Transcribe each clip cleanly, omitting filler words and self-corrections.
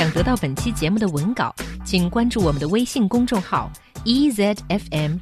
想得到本期节目的文稿，请关注我们的微信公众号 EZFM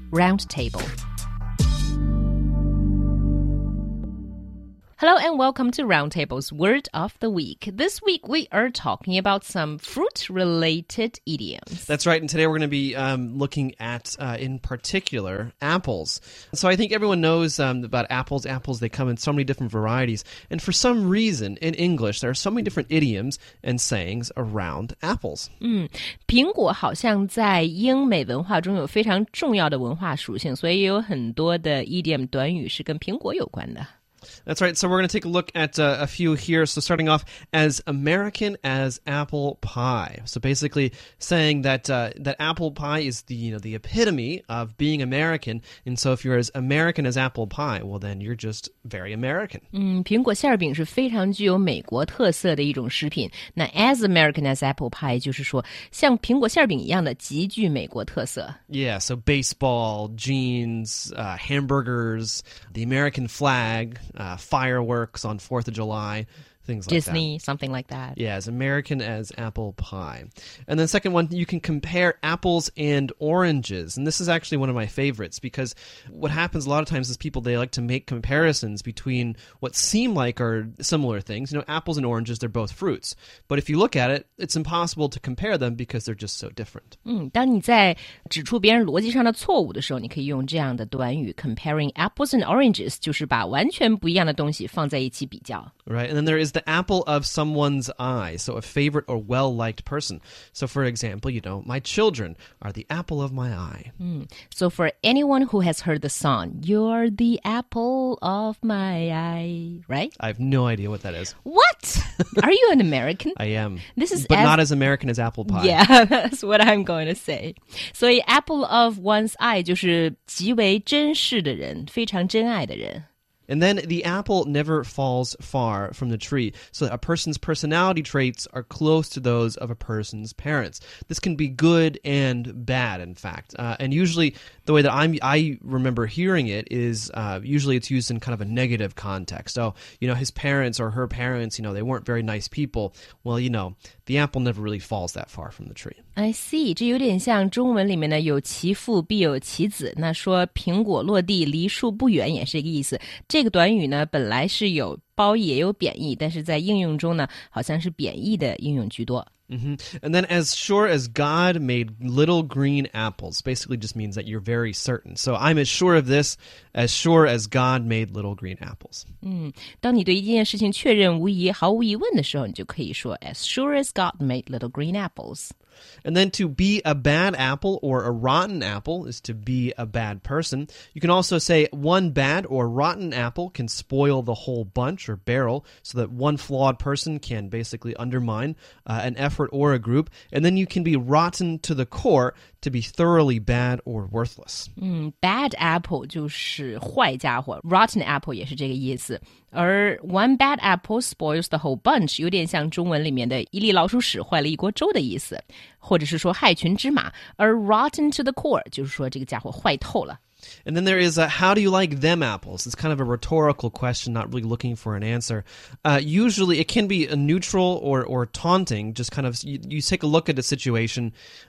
Roundtable。Hello and welcome to Roundtable's Word of the Week. This week we are talking about some fruit-related idioms. That's right, and today we're going to be looking at, in particular, apples. So I think everyone knows about apples. Apples, they come in so many different varieties. And for some reason, in English, there are so many different idioms and sayings around apples. 苹果好像在英美文化中有非常重要的文化属性，所以有很多的 idiom 短语是跟苹果有关的。 That's right. So we're going to take a look at a few here. So starting off, as American as apple pie. So basically saying that that apple pie is the epitome of being American. And so if you're as American as apple pie, well, then you're just very American. 苹果馅饼是非常具有美国特色的一种食品。那 as American as apple pie 就是说像苹果馅饼一样的极具美国特色。 Yeah, so baseball, jeans, hamburgers, the American flag, fireworks on 4th of July, things like Disney, that. something like that. Yeah, as American as apple pie. And then second one, you can compare apples and oranges. And this is actually one of my favorites because what happens a lot of times is people, they like to make comparisons between what seem like are similar things. You know, apples and oranges, they're both fruits. But if you look at it, it's impossible to compare them because they're just so different. 当你在指出别人逻辑上的错误的时候，你可以用这样的短语 comparing apples and oranges， 就是把完全不一样的东西放在一起比较。 Right, and then there is the apple of someone's eye, so a favorite or well-liked person. So for example, my children are the apple of my eye. So for anyone who has heard the song, you're the apple of my eye, right? I have no idea what that is. What? Are you an American? I am. This is but not as American as apple pie. Yeah, that's what I'm going to say. 所以 apple of one's eye 就是极为珍视的人，非常珍爱的人。 And then the apple never falls far from the tree. So a person's personality traits are close to those of a person's parents. This can be good and bad, in fact. And usually the way that I remember hearing it is usually it's used in kind of a negative context. So, his parents or her parents, they weren't very nice people. Well, the apple never really falls that far from the tree. I see. 这有点像中文里面呢，有其父必有其子。那说苹果落地离树不远也是一个意思。这个短语呢，本来是有褒义也有贬义，但是在应用中呢，好像是贬义的应用居多。 And then as sure as God made little green apples basically just means that you're very certain. So I'm as sure of this as sure as God made little green apples. 当你对一件事情确认无疑、毫无疑问的时候，你就可以说 as sure as God made little green apples. And then to be a bad apple or a rotten apple is to be a bad person. You can also say one bad or rotten apple can spoil the whole bunch or barrel, so that one flawed person can basically undermine an effort or a group. And then you can be rotten to the core, to be thoroughly bad or worthless. Bad apple 就是坏家伙 ，rotten apple 也是这个意思。而 one bad apple spoils the whole bunch 有点像中文里面的一粒老鼠屎坏了一锅粥的意思，或者是说害群之马。而 rotten to the core 就是说这个家伙坏透了。 And then there is how do you like them apples? It's kind of a rhetorical question, not really looking for an answer. Usually it can be a neutral or taunting, just kind of, you take a look at a situation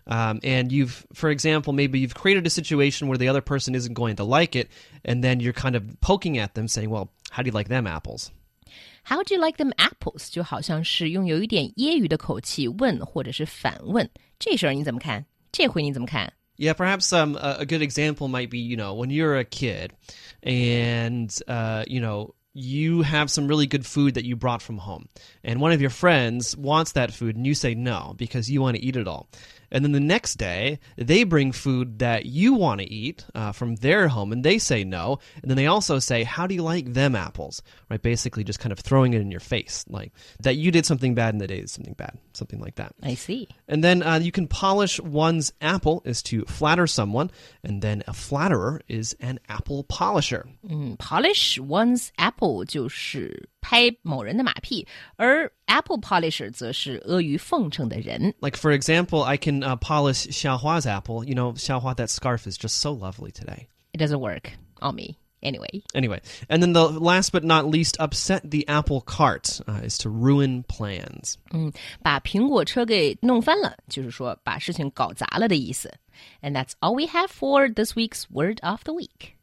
and for example, maybe you've created a situation where the other person isn't going to like it, and then you're kind of poking at them saying, well, how do you like them apples? How do you like them apples? 就好像是用有一点揶揄的口气问或者是反问。这事儿你怎么看？这回你怎么看？ Yeah, perhaps a good example might be, when you're a kid and, you have some really good food that you brought from home. And one of your friends wants that food and you say no because you want to eat it all. And then the next day, they bring food that you want to eat from their home, and they say no. And then they also say, how do you like them apples? Right? Basically just kind of throwing it in your face, like that you did something bad and they did something bad, something like that. I see. And then you can polish one's apple is to flatter someone, and then a flatterer is an apple polisher. Polish one's apple 就是拍某人的马屁，而 apple polisher 则是阿谀奉承的人。 Like, for example, I can polish Xiaohua's apple. Xiaohua, that scarf is just so lovely today. It doesn't work on me. Anyway. And then the last but not least, upset the apple cart is to ruin plans. 把苹果车给弄翻了，就是说把事情搞砸了的意思。And that's all we have for this week's Word of the Week.